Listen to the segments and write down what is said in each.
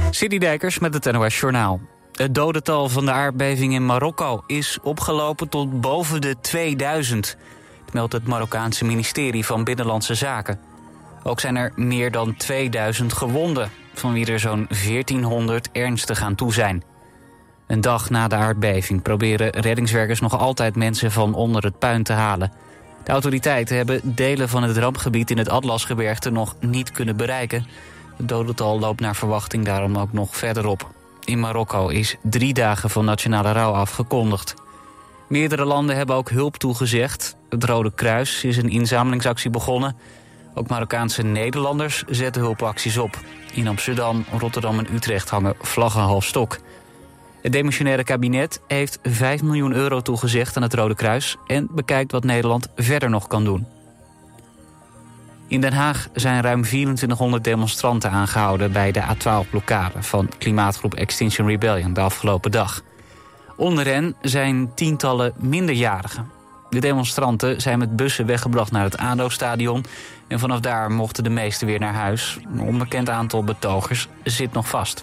Sidi Dijkers met het NOS Journaal. Het dodental van de aardbeving in Marokko is opgelopen tot boven de 2000. Dat meldt het Marokkaanse ministerie van Binnenlandse Zaken. Ook zijn er meer dan 2000 gewonden, van wie er zo'n 1400 ernstig aan toe zijn. Een dag na de aardbeving proberen reddingswerkers nog altijd mensen van onder het puin te halen. De autoriteiten hebben delen van het rampgebied in het Atlasgebergte nog niet kunnen bereiken. Het dodental loopt naar verwachting daarom ook nog verder op. In Marokko is 3 dagen van nationale rouw afgekondigd. Meerdere landen hebben ook hulp toegezegd. Het Rode Kruis is een inzamelingsactie begonnen. Ook Marokkaanse Nederlanders zetten hulpacties op. In Amsterdam, Rotterdam en Utrecht hangen vlaggen half stok. Het demissionaire kabinet heeft 5 miljoen euro toegezegd aan het Rode Kruis en bekijkt wat Nederland verder nog kan doen. In Den Haag zijn ruim 2400 demonstranten aangehouden bij de A12-blokkade van klimaatgroep Extinction Rebellion de afgelopen dag. Onder hen zijn tientallen minderjarigen. De demonstranten zijn met bussen weggebracht naar het ADO-stadion en vanaf daar mochten de meesten weer naar huis. Een onbekend aantal betogers zit nog vast.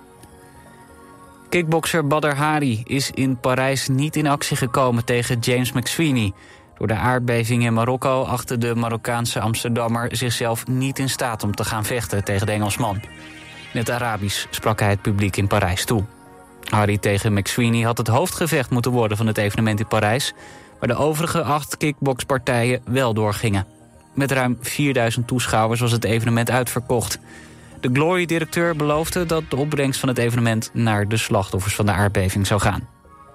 Kickbokser Badr Hari is in Parijs niet in actie gekomen tegen James McSweeney. Door de aardbeving in Marokko achtte de Marokkaanse Amsterdammer zichzelf niet in staat om te gaan vechten tegen de Engelsman. In het Arabisch sprak hij het publiek in Parijs toe. Hari tegen McSweeney had het hoofdgevecht moeten worden van het evenement in Parijs, waar de overige 8 kickboxpartijen wel doorgingen. Met ruim 4000 toeschouwers was het evenement uitverkocht. De Glory-directeur beloofde dat de opbrengst van het evenement naar de slachtoffers van de aardbeving zou gaan.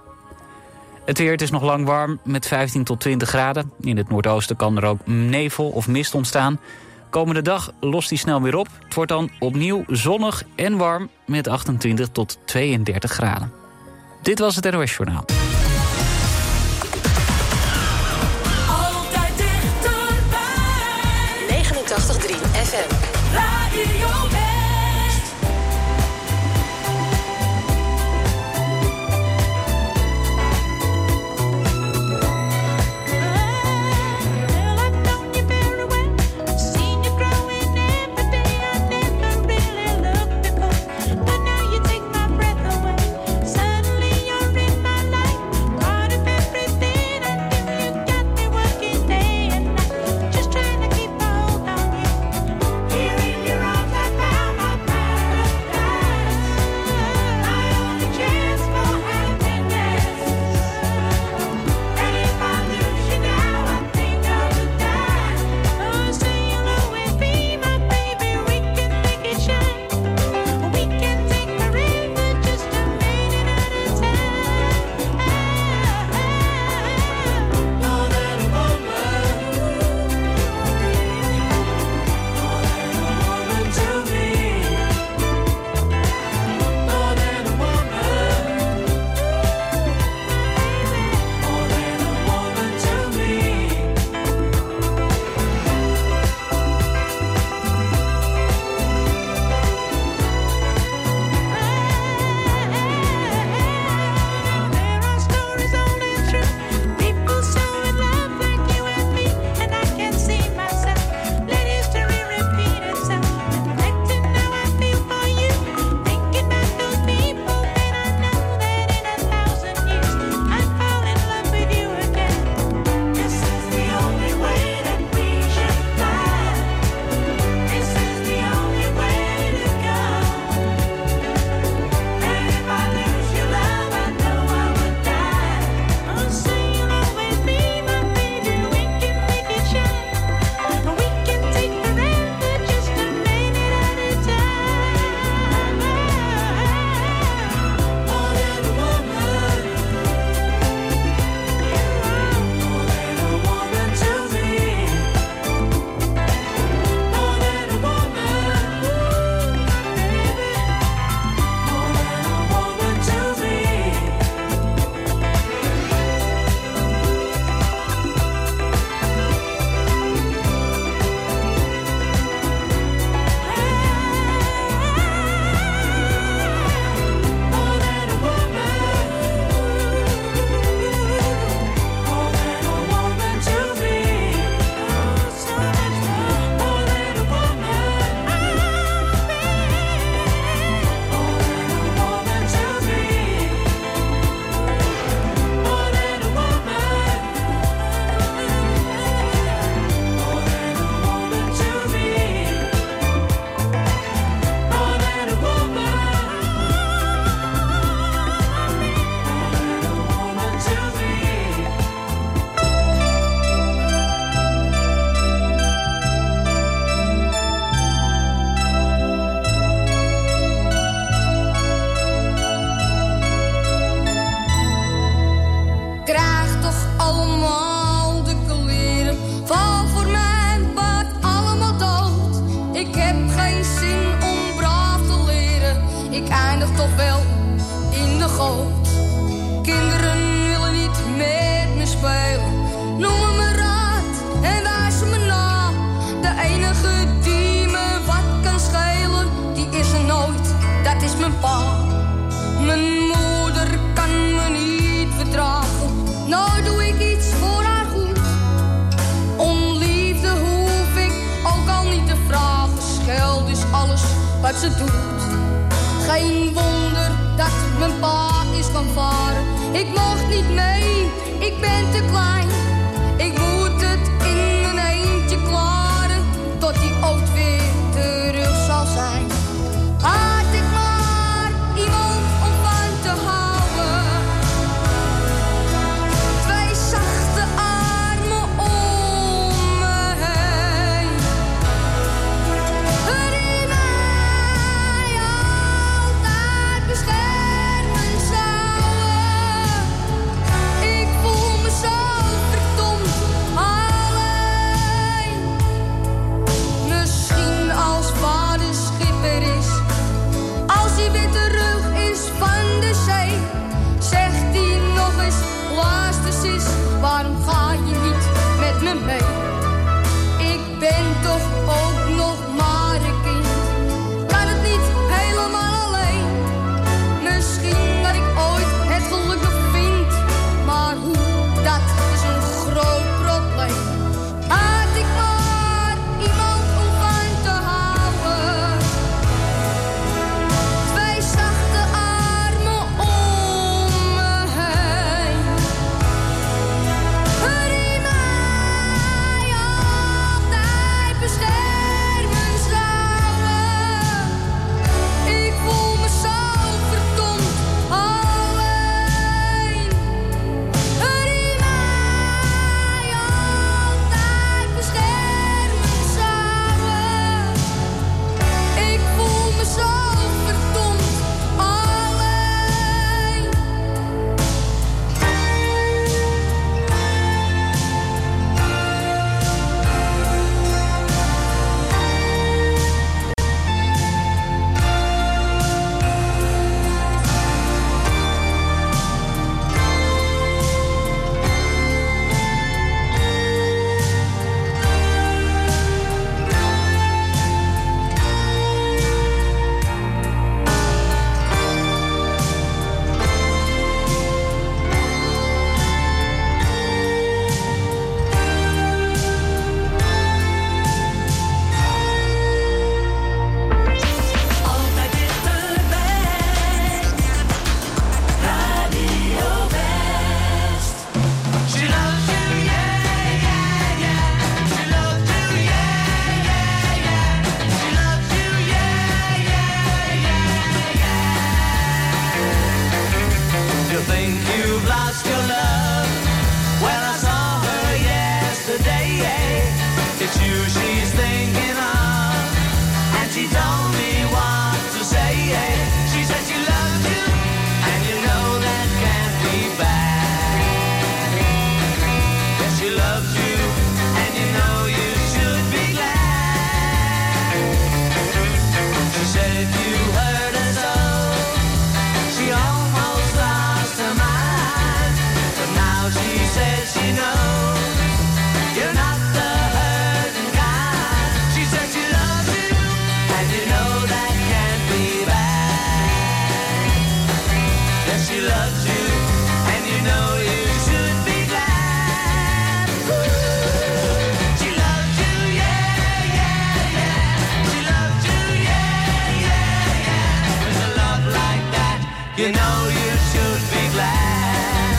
Het weer, het is nog lang warm met 15 tot 20 graden. In het noordoosten kan er ook nevel of mist ontstaan. Komende dag lost die snel weer op. Het wordt dan opnieuw zonnig en warm met 28 tot 32 graden. Dit was het NOS Journaal. Altijd dichterbij. 89.3 FM. Radio West. Here in your arms I found ik eindig toch wel in de goot. Kinderen willen niet met me spelen, noemen me raad en wijzen me na. De enige die me wat kan schelen, die is er nooit, dat is mijn pa. Mijn moeder kan me niet verdragen, nou doe ik iets voor haar goed. Om liefde hoef ik ook al niet te vragen, geld is alles wat ze doet. Geen wonder dat mijn pa is gaan varen. Ik mocht niet mee, ik ben te klein. Ik moet het in mijn eentje klaren, tot die ooit weer terug zal zijn. Had ik maar iemand om van te houden, twee zachte armen om me heen, die mij altijd beschermen zouden. Ik voel me zo verdomd alleen. Misschien als vader schipper is, als hij weer terug is van de zee, zegt hij nog eens, luister sis, waarom ga je niet met me mee? Ik ben toch ook nog maar een kind, kan het niet helemaal alleen. Misschien dat ik ooit het geluk nog vind, maar hoe, dat is een groot probleem. Had ik maar iemand om van te houden, twee zachte armen om me heen, die mij altijd beschermen zouden. Ik voel me zo verdomd alleen, die mij altijd beschermen zouden. Ik voel me zo verdomd alleen. Altijd dichterbij. Radio West. She loves you, yeah, yeah, yeah. She loves you, yeah, yeah, yeah. She loves you, yeah, yeah, yeah, yeah. You think you've lost your love? Well, I saw her yesterday. It's you she's thinking of, and she told me what to say. She said she loves you, and you know that can't be bad. Yes, she loves you, and you know you should be glad. She said you hurt her so, she almost lost her mind. But now she says she knows you're not the hurting kind. She said she loves you, and you know that can't be bad. Yes, she loves you, and you know you should be glad. She loves you, yeah, yeah, yeah. She loves you, yeah, yeah, yeah. With a love like that, you know you should be glad.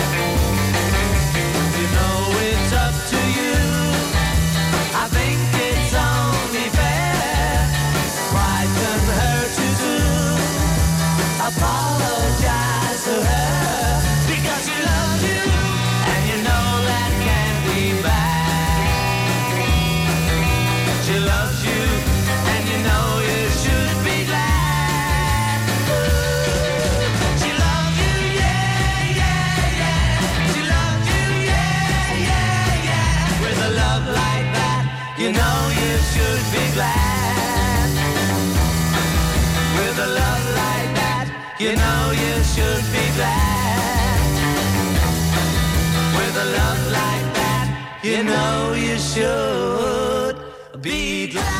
You know it's up to you. I think it's only fair. Pride can hurt you too. Apologize to her, because she loves you, and you know that can't be bad. She loves you, and you know you should be glad. She loves you, yeah, you know you should be glad. With a love like that, you know you should be glad.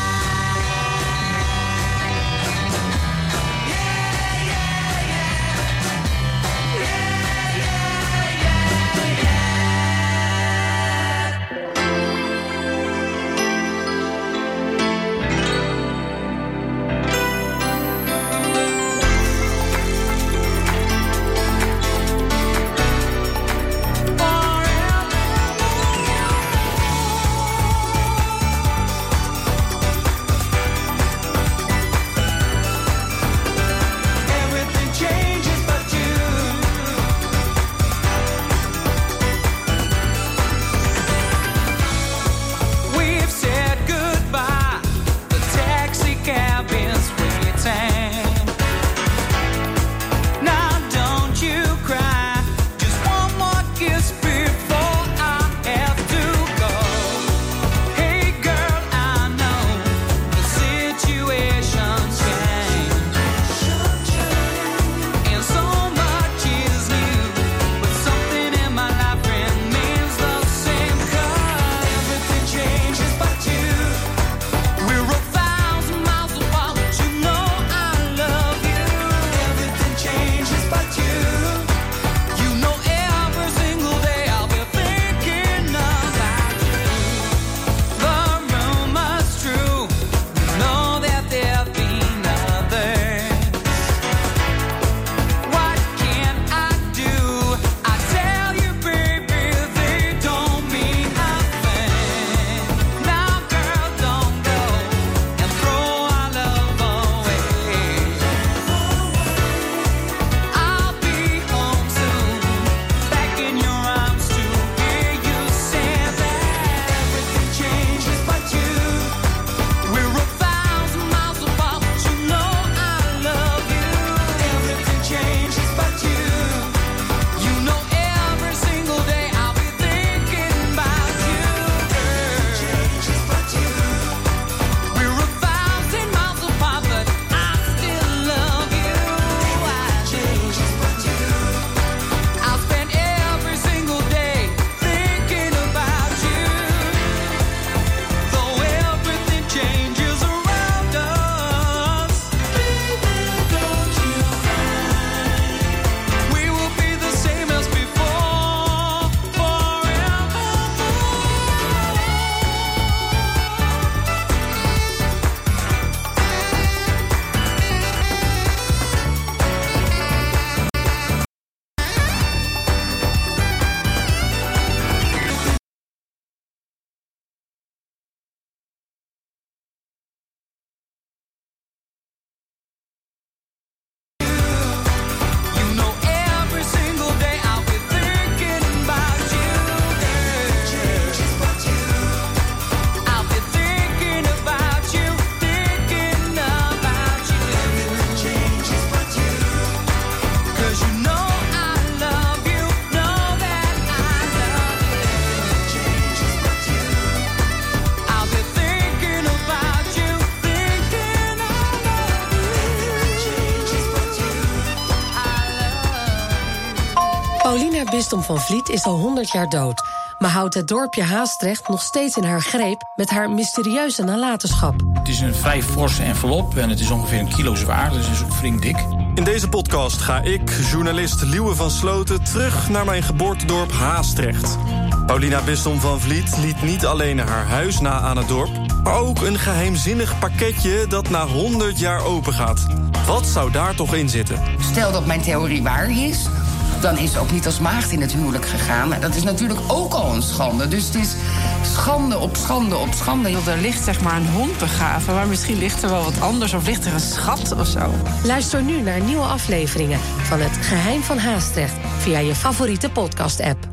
Paulina Bisdom van Vliet is al 100 jaar dood, maar houdt het dorpje Haastrecht nog steeds in haar greep met haar mysterieuze nalatenschap. Het is een vrij forse envelop en het is ongeveer 1 kilo zwaar, dus het is ook flink dik. In deze podcast ga ik, journalist Liewe van Sloten, terug naar mijn geboortedorp Haastrecht. Paulina Bisdom van Vliet liet niet alleen haar huis na aan het dorp, maar ook een geheimzinnig pakketje dat na 100 jaar open gaat. Wat zou daar toch in zitten? Stel dat mijn theorie waar is, dan is ze ook niet als maagd in het huwelijk gegaan. Maar dat is natuurlijk ook al een schande. Dus het is schande op schande op schande. Er ligt zeg maar een hond begraven, maar misschien ligt er wel wat anders of ligt er een schat of zo. Luister nu naar nieuwe afleveringen van Het Geheim van Haastrecht via je favoriete podcast-app.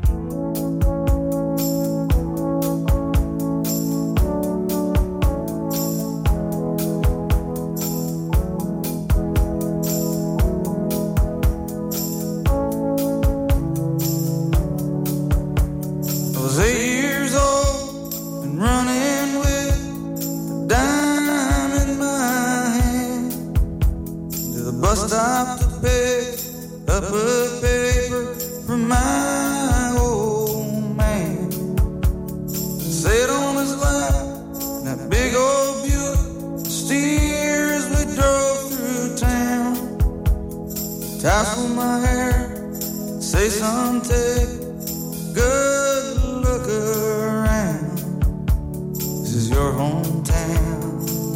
Bus stop stopped to pick up a paper from my old man. Sat on his lap, that big old Buick steers we drove through town. Tassel my hair, say son, take a good look around. This is your hometown.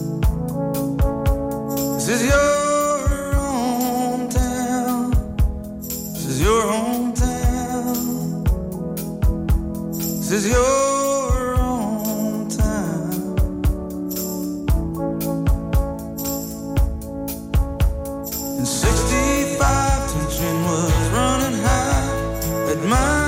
This is your hometown. This is your hometown. This is your hometown. In '65, tension was running high at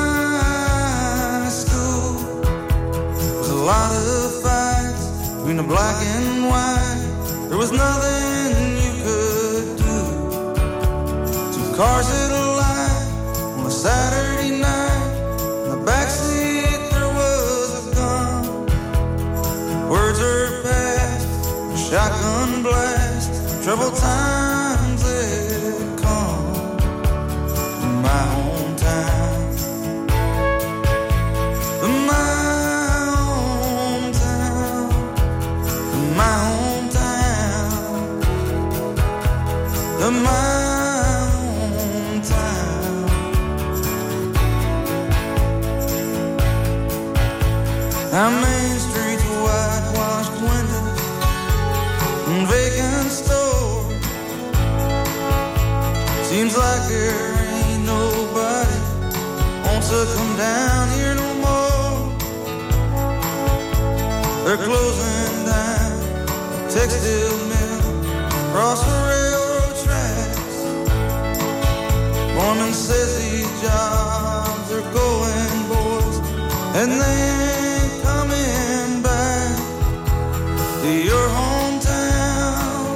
my school. There was a lot of fights between the black and white. There was nothing you could do. Two cars at a light on a Saturday night. In the backseat there was a gun. Words are passed, a shotgun blast. Troubled times had come in my hometown. In my hometown. In my hometown. In my hometown. Our main streets, whitewashed windows and vacant stores. Seems like there ain't nobody wants to come down here no more. They're closing down a textile mill across the railroad tracks. Foreman says these jobs are going, boys, and they ain't coming back to your hometown,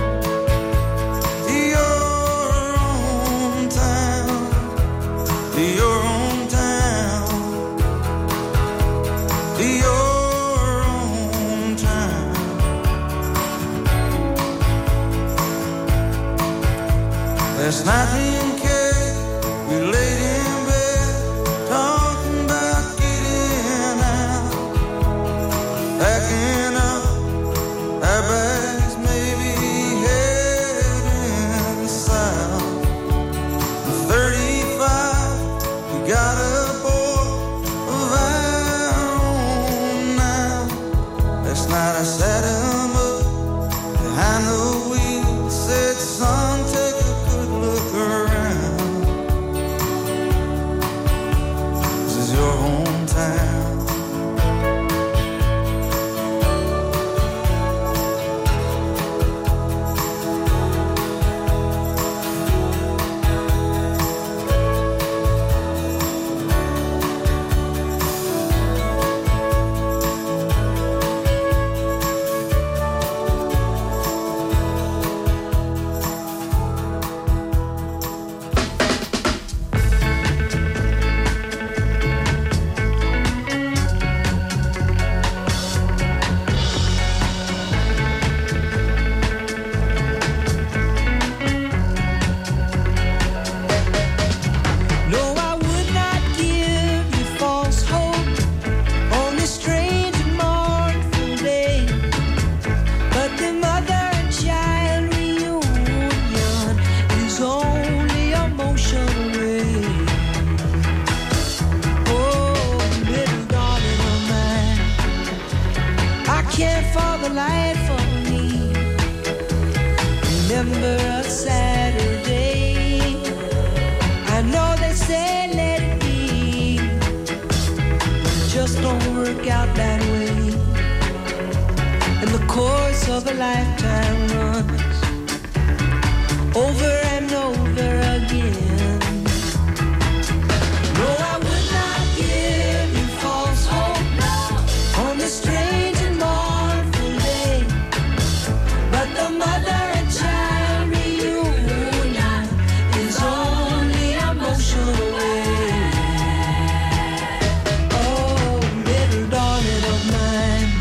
to your hometown, to your hometown, to your hometown. Last night me and Kay, we laid in bed, talking about getting out, packing up our bags, maybe heading south. At 35, we got a boy of our own now. Last night I sat him up behind the wheel, said, son, take a good look around. This is your hometown. No, I would not give you false hope on this strange and mournful day. But the mother and child reunion is only a motion away. Oh, little darling of mine, I can't for the life of me remember a Saturday. I know they say let it be, but it just don't work out that way. And the course of a lifetime runs over and over again. No, I would not give you false hope on this strange and mournful day. But the mother and child reunion is only a motion away. Oh, little darling of mine,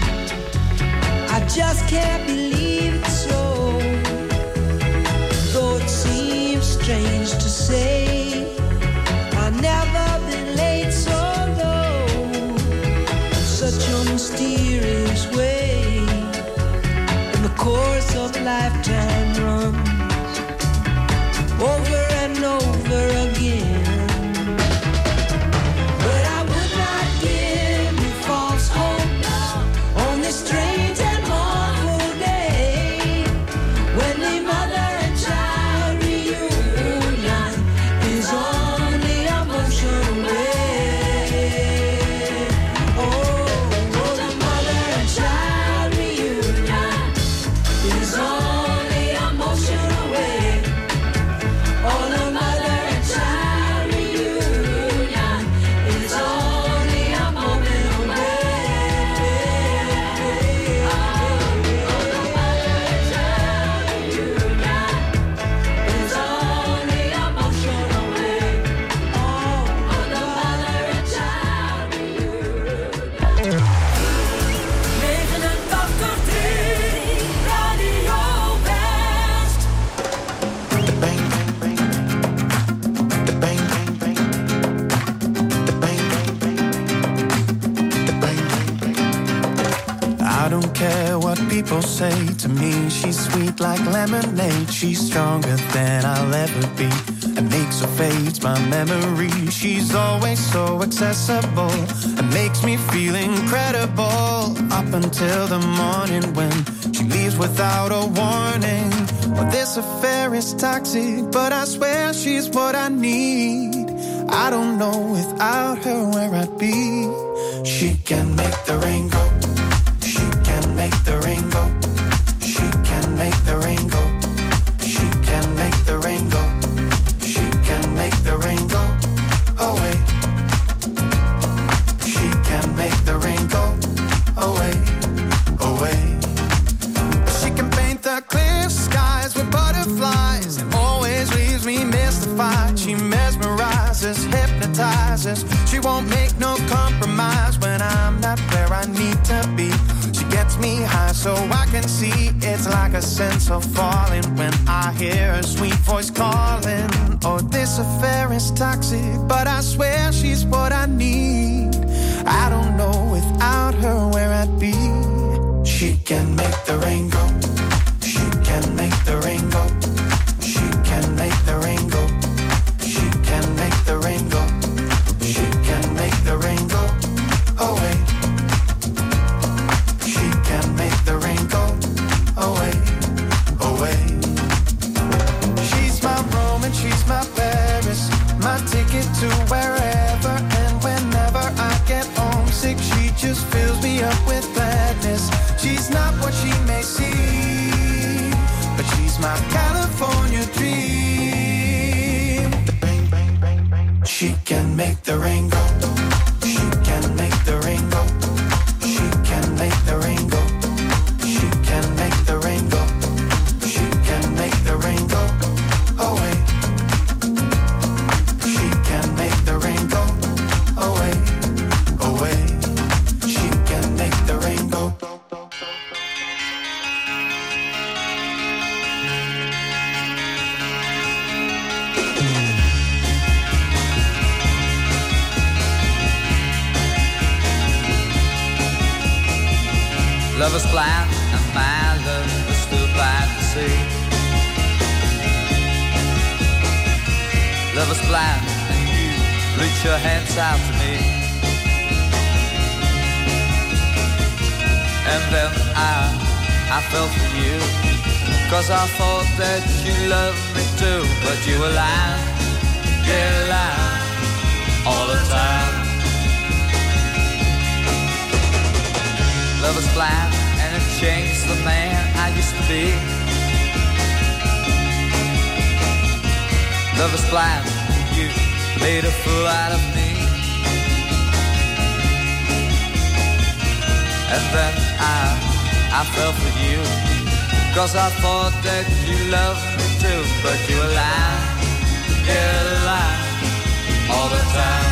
I just can't believe it's so. Though it seems strange to say. I've never been late so low, in such a mysterious way. And the course of lifetime runs over and over again. But I would not give you false hope on this strange and awful day, when the mother and child reunion is on the emotional way. Oh, the mother and child reunion is on the emotional way. Oh, the mother and child reunion is on the emotional way. Oh, the mother and child reunion is on the emotional way. Oh, the mother and child reunion. 89.3 Radio West. I don't care what people say to me. She's sweet like lemonade. She's stronger than I'll ever be. And makes or fades my memory. She's always so accessible and makes me feel incredible. Up until the morning when she leaves without a warning. Well, this affair is toxic, but I swear she's what I need. I don't know without her where I'd be. She can make the rain go. She can make the rain go. She can make the rain go. She can make the rain go. She can make the rain go away. She can make the rain go away, away. She can paint the clear skies with butterflies and always leaves me mystified. She mesmerizes, hypnotizes. She won't make no compromise when I'm not where I need to be. She gets me high so I can see. It's like a sense of falling when I hear her sweet voice calling. Oh, this affair is toxic, but I swear she's what I need. I don't know without her where I'd be. She can make the rain go. She can make the rain go. She can make the rain go. She can make the rain go. She can make the rain go away. She can make the rain go away, away. She's my Rome and she's my Paris, my ticket to wherever and whenever I get homesick. She just fills me up with gladness. She's not what she may seem, but she's my California dream. She can make the rain go. She can make the rain go. She can make the rain go. She can make the rain go. She can make the rain go away. She can make the rain go away, away. She can make the rain go. Love is blind and my love is still blind to see. Love is blind and you reach your hands out to me. And then I fell for you, 'cause I thought that you loved me too. But you were lying, yeah, lying all the time. Love is blind and it changed the man I used to be. Love is blind, you made a fool out of me. And then I fell for you, 'cause I thought that you loved me too. But you were lying, yeah, lying all the time.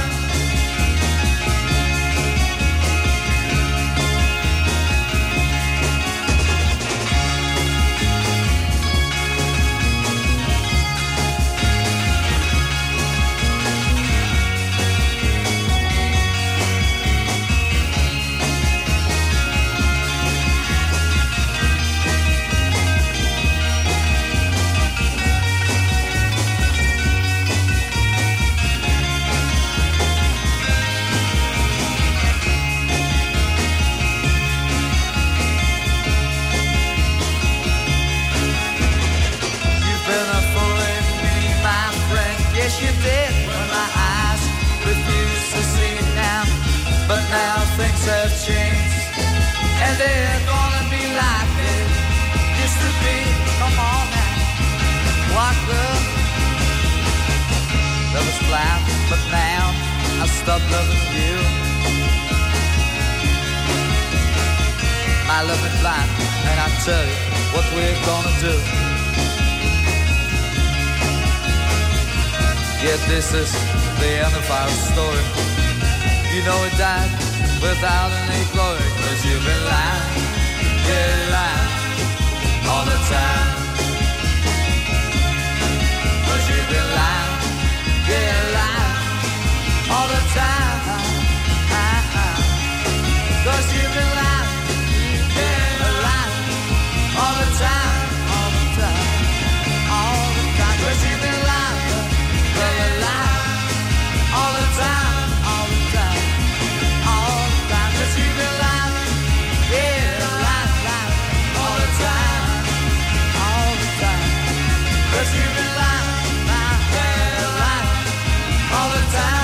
I love it blind, and I tell you what we're gonna do. Yeah, this is the end of our story. You know it died without any glory, 'cause you've been lying, yeah, lying all the time. 'Cause you've been lying, yeah, lying all the time. 'Cause you've been lying, yeah, lying all the time, all the time, all the time. 'Cause you've been lying, yeah, lying all the time, all the time, all the time. 'Cause you've been lying, yeah, lying, lying all the time, all the time. 'Cause you've been lying, yeah, lying all the time.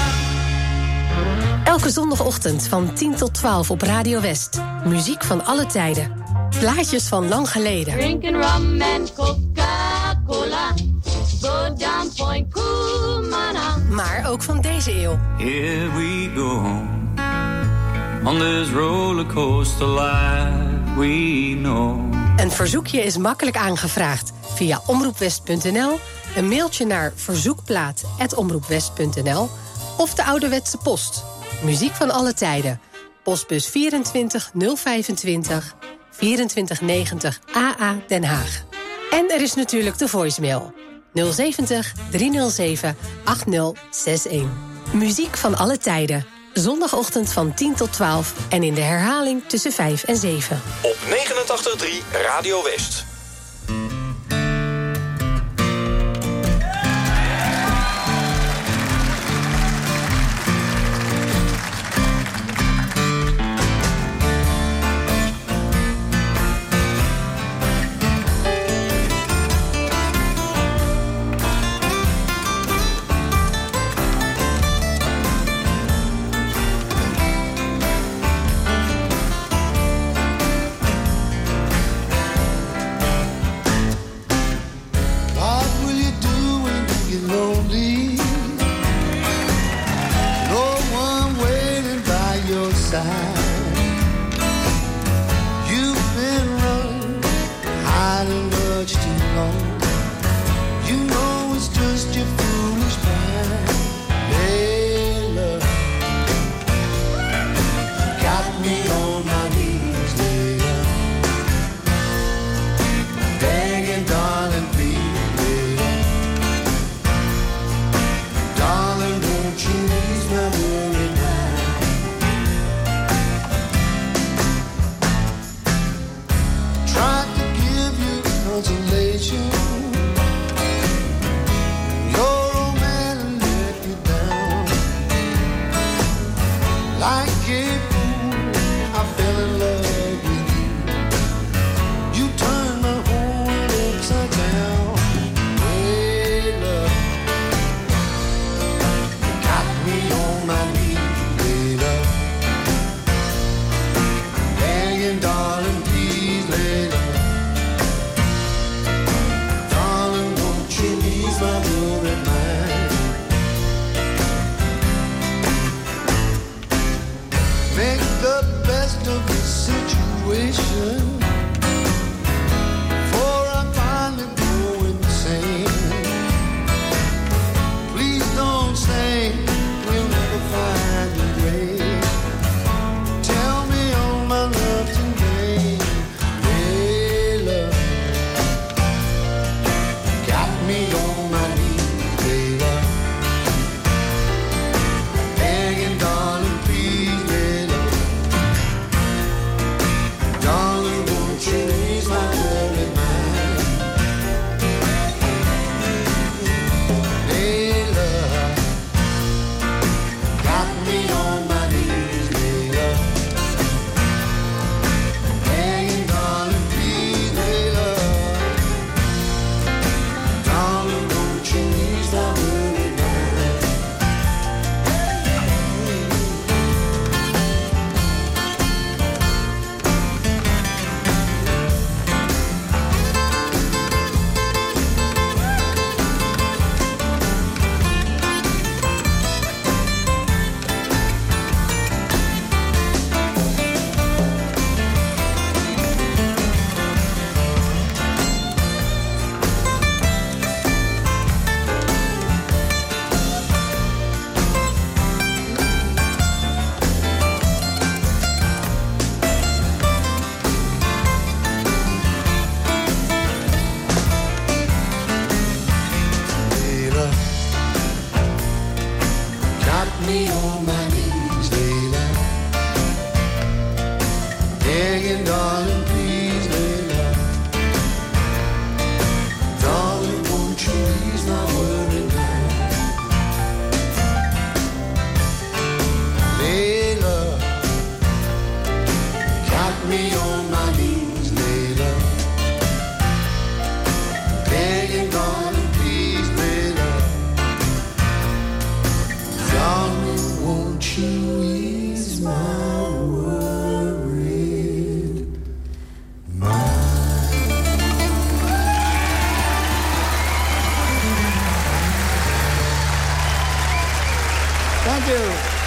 Elke zondagochtend van 10 tot 12 op Radio West. Muziek van alle tijden. Plaatjes van lang geleden. Drinking rum and Coca-Cola. Go down Point Kumana. Maar ook van deze eeuw. Here we go on this rollercoaster life we know. Een verzoekje is makkelijk aangevraagd via omroepwest.nl, een mailtje naar verzoekplaat@omroepwest.nl of de ouderwetse post. Muziek van alle tijden. Postbus 24 025 2490 AA Den Haag. En er is natuurlijk de voicemail 070 307 8061. Muziek van alle tijden. Zondagochtend van 10 tot 12 en in de herhaling tussen 5 en 7. Op 89.3 Radio West. Darling, Thank you.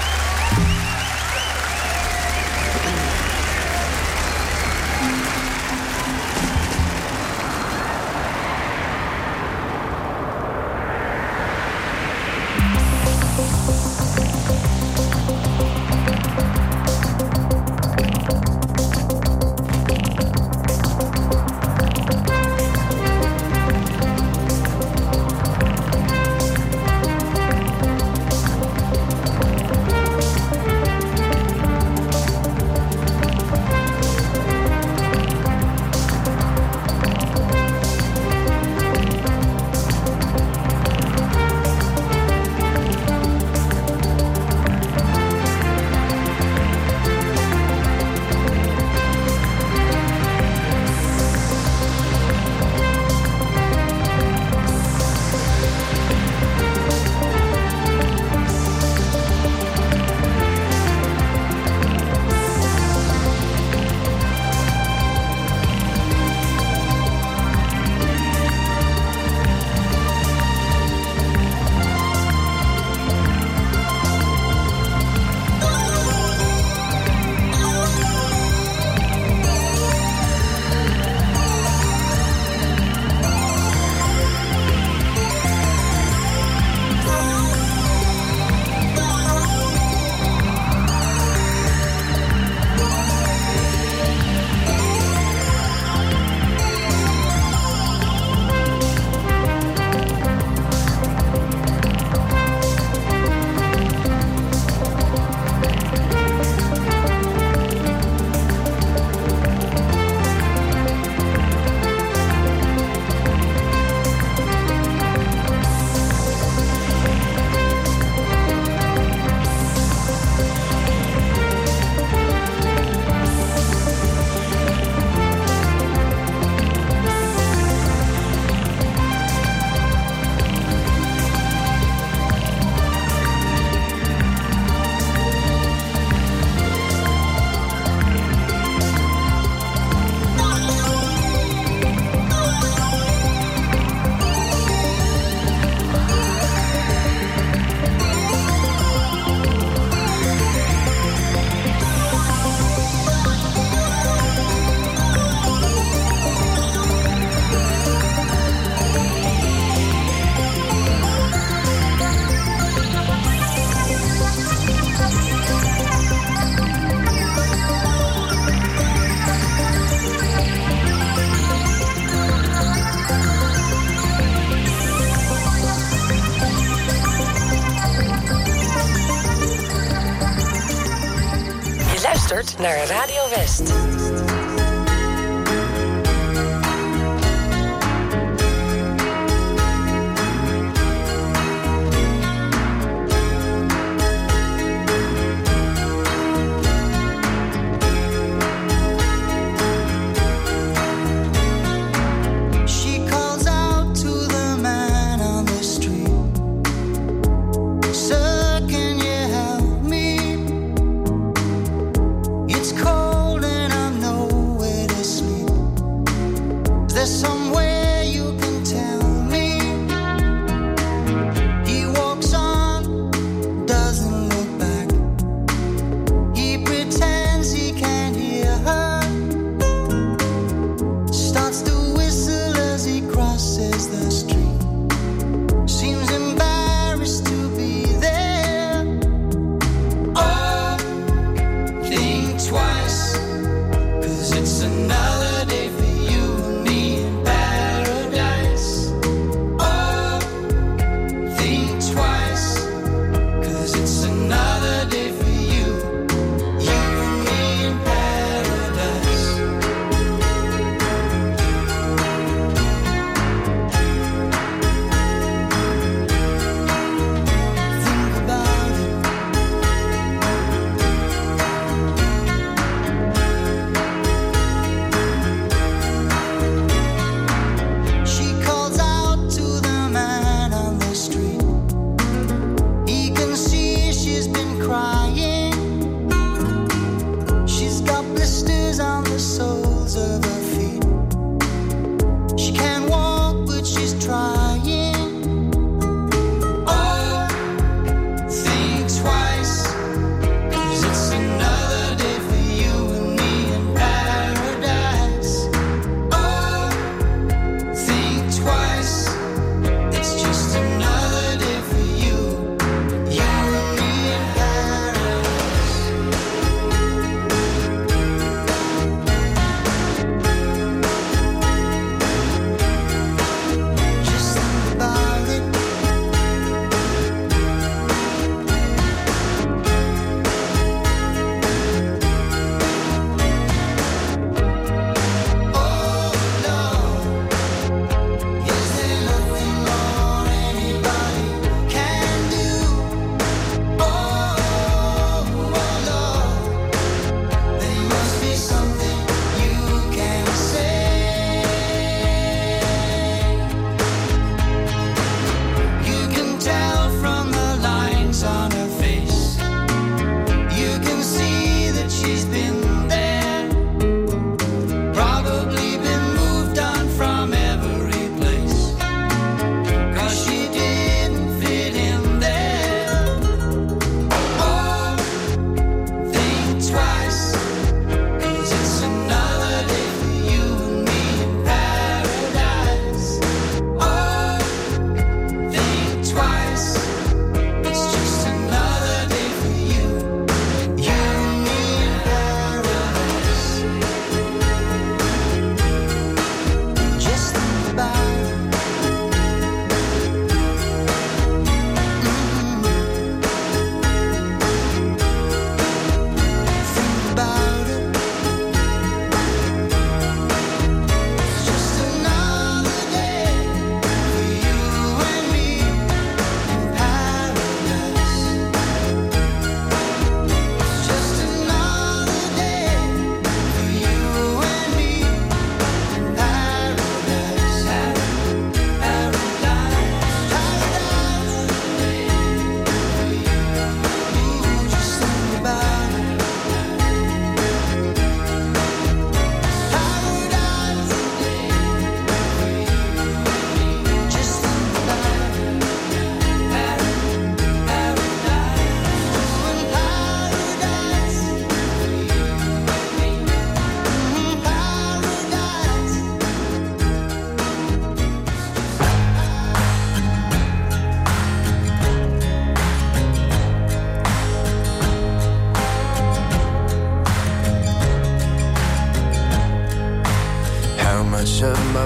luistert naar Radio West. Cold and I'm no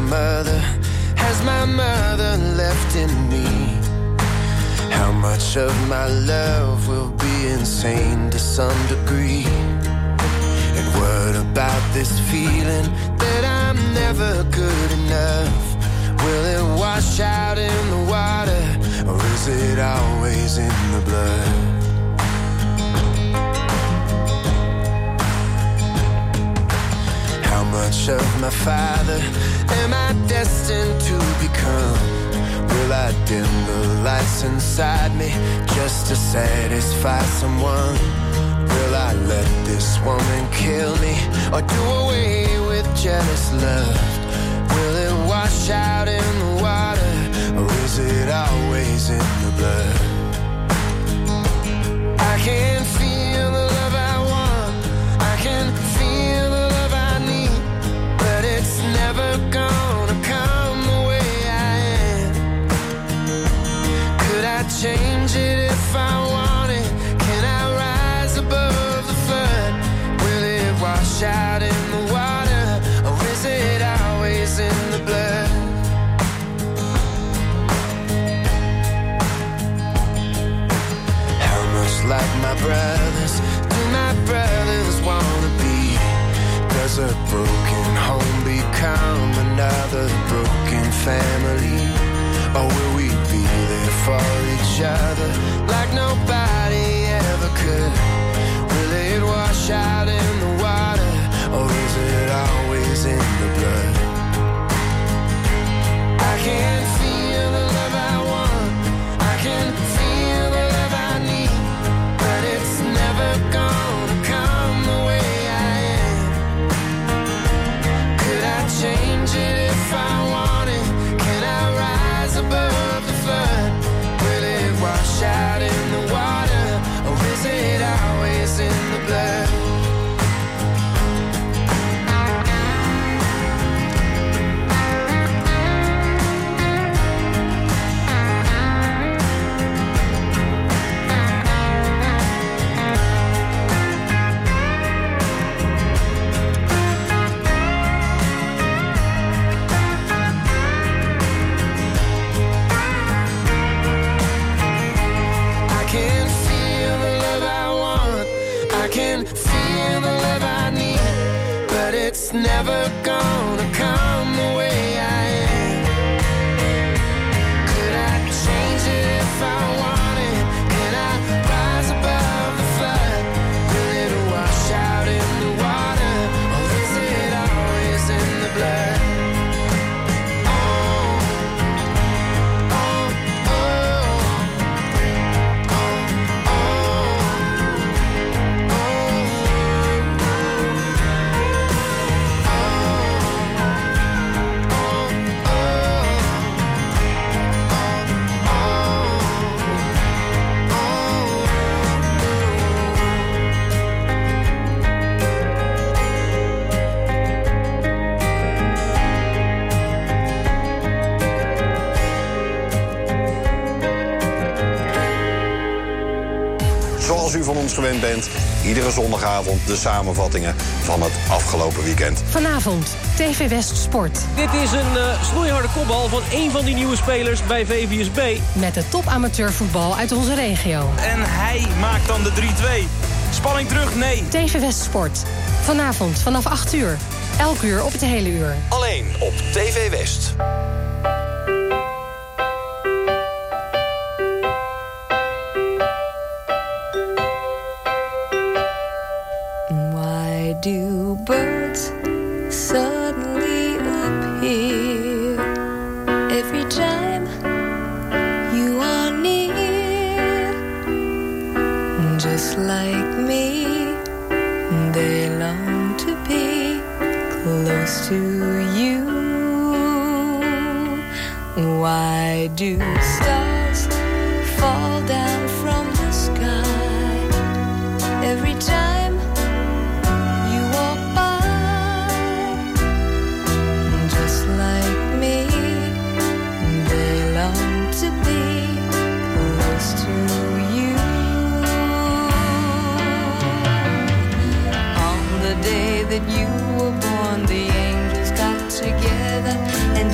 mother has my mother left in me? How much of my love will be insane to some degree? And what about this feeling that I'm never good enough? Will it wash out in the water, or is it always in the blood? How much of my father am I destined to become? Will I dim the lights inside me just to satisfy someone? Will I let this woman kill me, or do away with jealous love? Will it wash out in the water, or is it always in the blood? I can feel the love I want, I can feel the love I need, but it's never gonna come the way I am. Could I change it if I wanted? Can I rise above the flood? Will it wash out in the water, or is it always in the blood? How much like my brothers do my brothers wanna be? Does a broken home become another broken family? Or will we be there for each other like nobody ever could? Will it wash out in the water, or is it always in the blood? I can feel the love I want, I can feel the love I need, but it's never gonna come the way I am. Could I change it if I wanted? Can I rise above the flood? Will it wash out in the water, or is it always in the blood? I can feel the love I want, I can feel the love I need, but it's never gonna come the way I am. Could I change it if I wanted? Can I rise above the flood? Will it wash out in the water, or is it always in the blood? Zoals u van ons gewend bent, iedere zondagavond de samenvattingen van het afgelopen weekend. Vanavond, TV West Sport. Dit is een snoeiharde kopbal van één van die nieuwe spelers bij VVSB. Met de top amateurvoetbal uit onze regio. En hij maakt dan de 3-2. Spanning terug, nee. TV West Sport. Vanavond vanaf 8 uur. Elk uur op het hele uur. Alleen op TV West. Why do birds suddenly appear every time you are near? Just like me, they long to be close to you. Why do stars fall down from the sky every time you walk by? Just like me, they long to be close to you. On the day that you were born, the angels got together and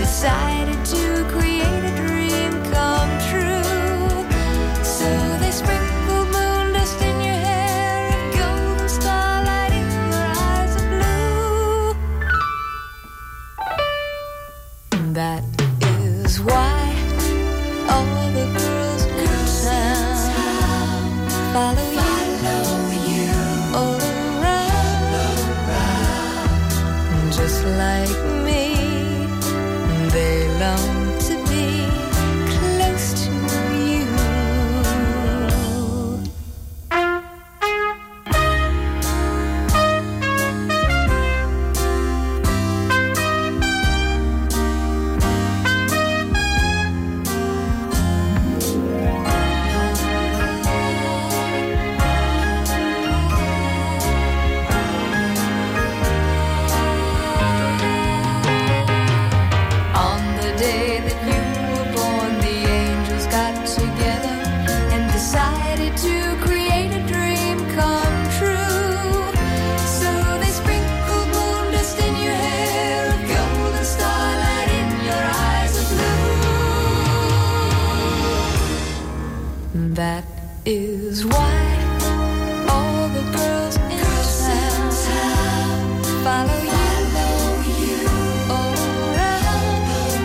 That is why all the girls in town follow you around.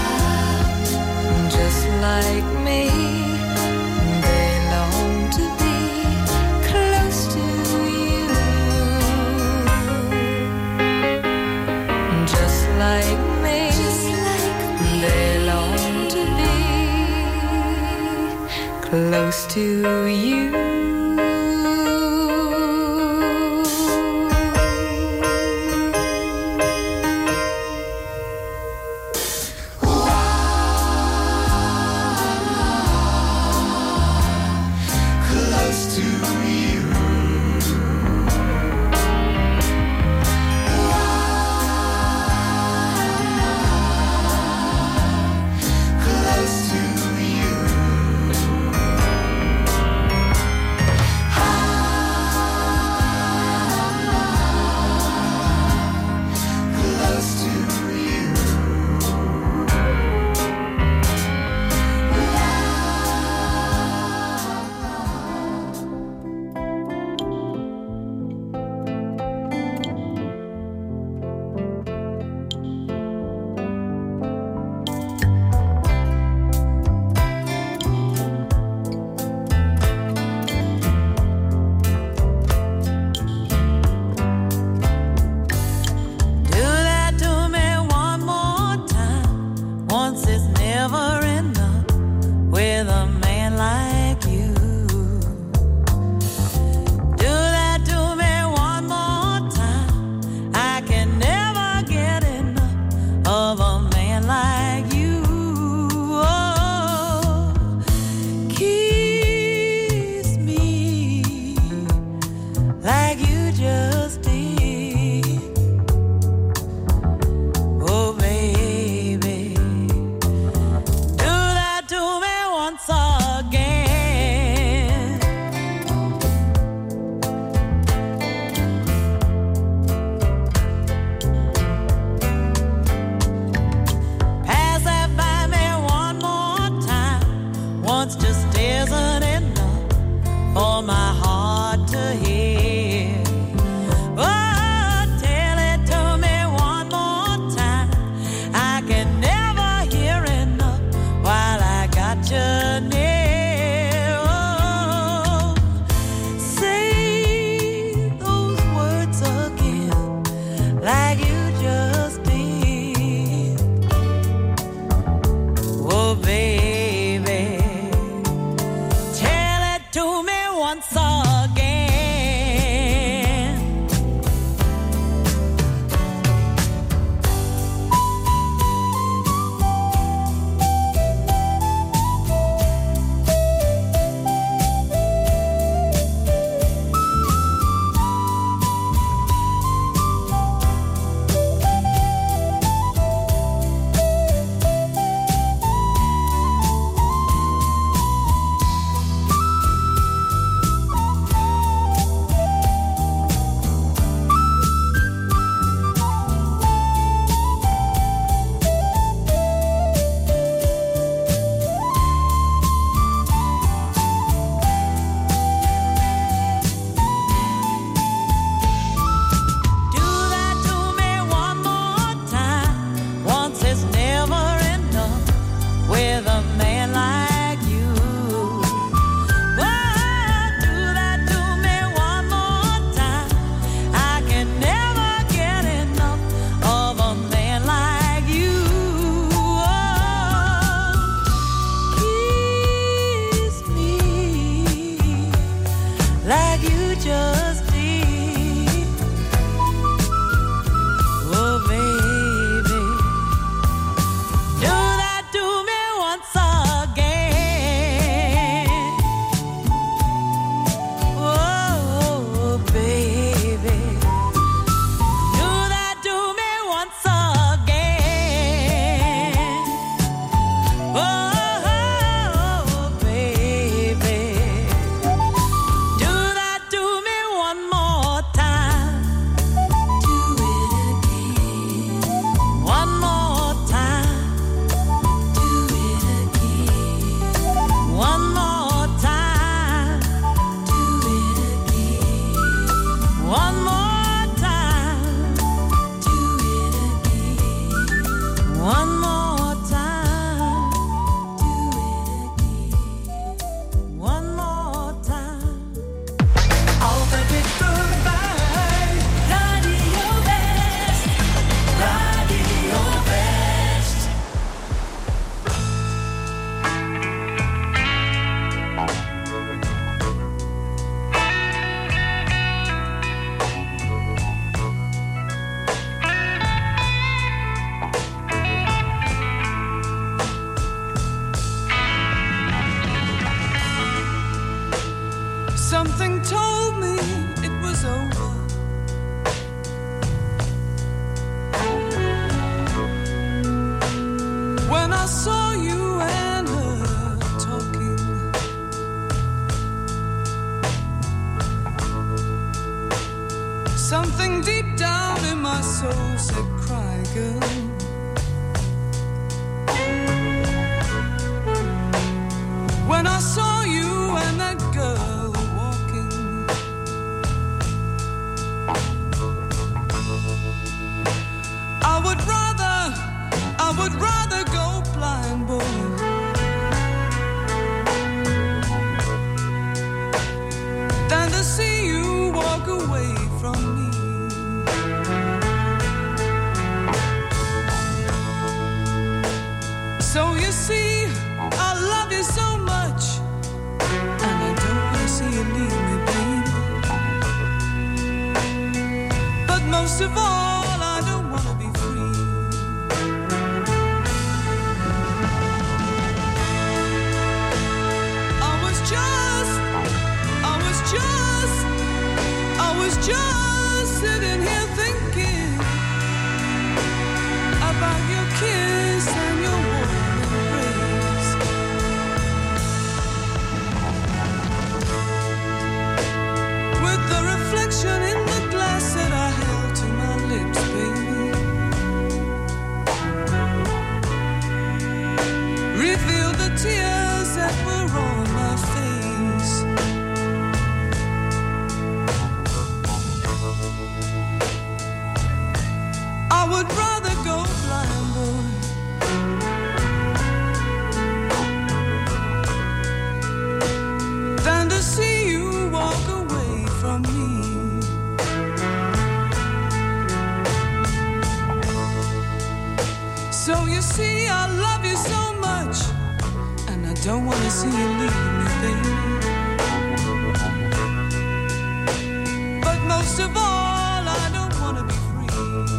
Just like me, they long to be close to you. Just like me, they long to be close to you. Once Something told me it was over. When I saw you and her talking, something deep down in my soul said, cry, girl. When I saw you and that girl walking, I would rather go blind, boy, than to see you walk away from me. So you see, I love you so much, and I don't want to see you leave me, baby. But most of all, I don't want to be free. I was just sitting here thinking about your kiss and your warm embrace. With the reflection in the glass that I held to my lips, baby, revealed the tears that were on my face. I would rather go blind, boy, than to see you walk away from me. So you see, I love you so much, and I don't want to see you leave me, baby. But most of all, I don't want to be free.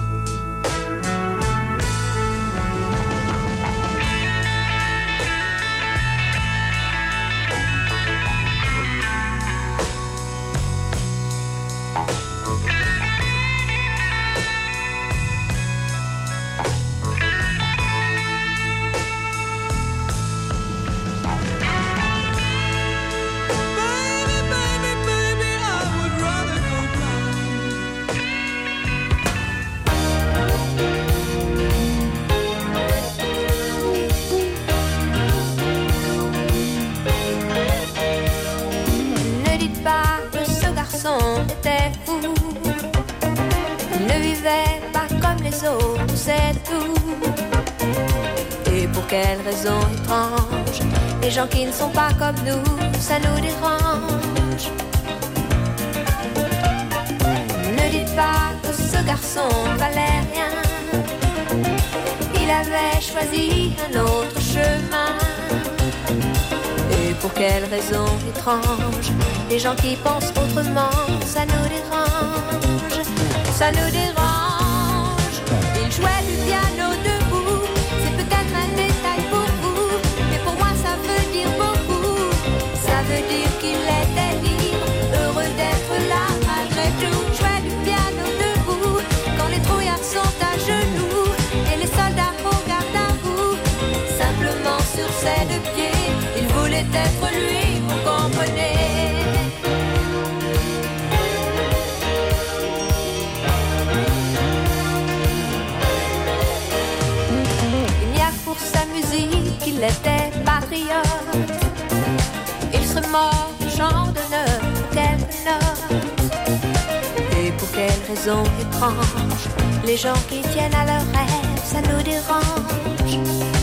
Était fou, il ne vivait pas comme les autres, c'est tout. Et pour quelle raison étrange, les gens qui ne sont pas comme nous, ça nous dérange. Ne dites pas que ce garçon valait rien, il avait choisi un autre chemin. Et pour quelle raison étrange, les gens qui pensent autrement, ça nous dérange, ça nous dérange. Il jouait du piano debout, c'est peut-être un détail pour vous, mais pour moi ça veut dire beaucoup. Ça veut dire qu'il était libre, heureux d'être là malgré tout. Jouait du piano debout, quand les trouillards sont à genoux, et les soldats regardent à vous, simplement sur ses deux pieds. Il voulait être lui, vous comprenez. Il n'y a que pour sa musique qu'il était patriote. Il serait mort du champ d'honneur, quelques notes. Et pour quelle raison étrange, les gens qui tiennent à leurs rêves, ça nous dérange.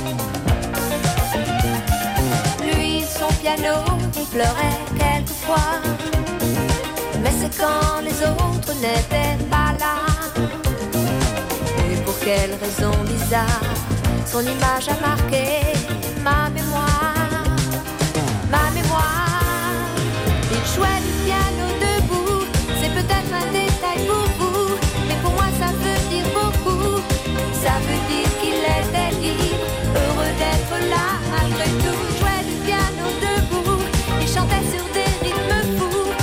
Son piano, il pleurait quelquefois, mais c'est quand les autres n'étaient pas là. Et pour quelle raison bizarre, son image a marqué ma mémoire, ma mémoire. Il jouait du piano debout, c'est peut-être un détail pour vous, mais pour moi ça veut dire beaucoup. Ça veut dire qu'il était libre, heureux d'être là malgré tout. Jouait du piano debout, il chantait sur des rythmes fous,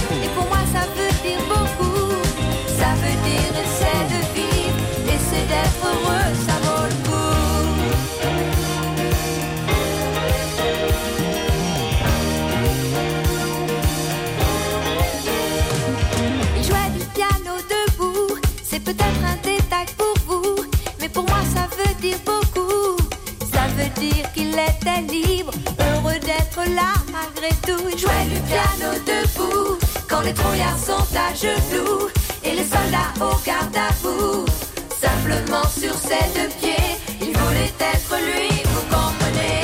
tout, jouait du piano debout. Quand les trouillards sont à genoux et les soldats au garde à vous, simplement sur ses deux pieds, il voulait être lui, vous comprenez.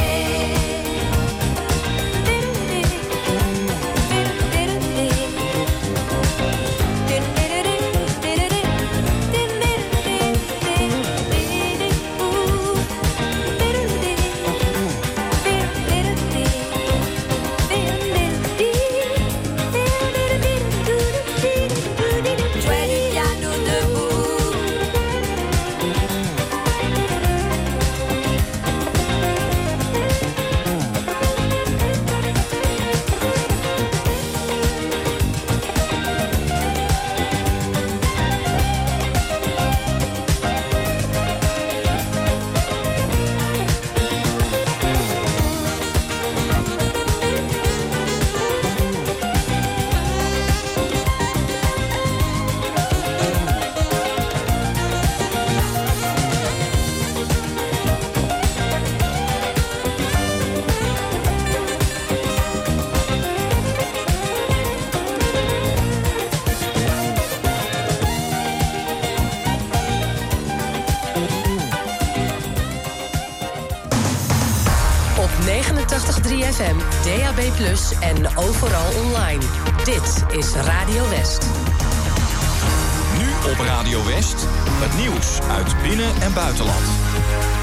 Op 89.3 FM, DAB+ en overal online. Dit is Radio West. Nu op Radio West, het nieuws uit binnen- en buitenland.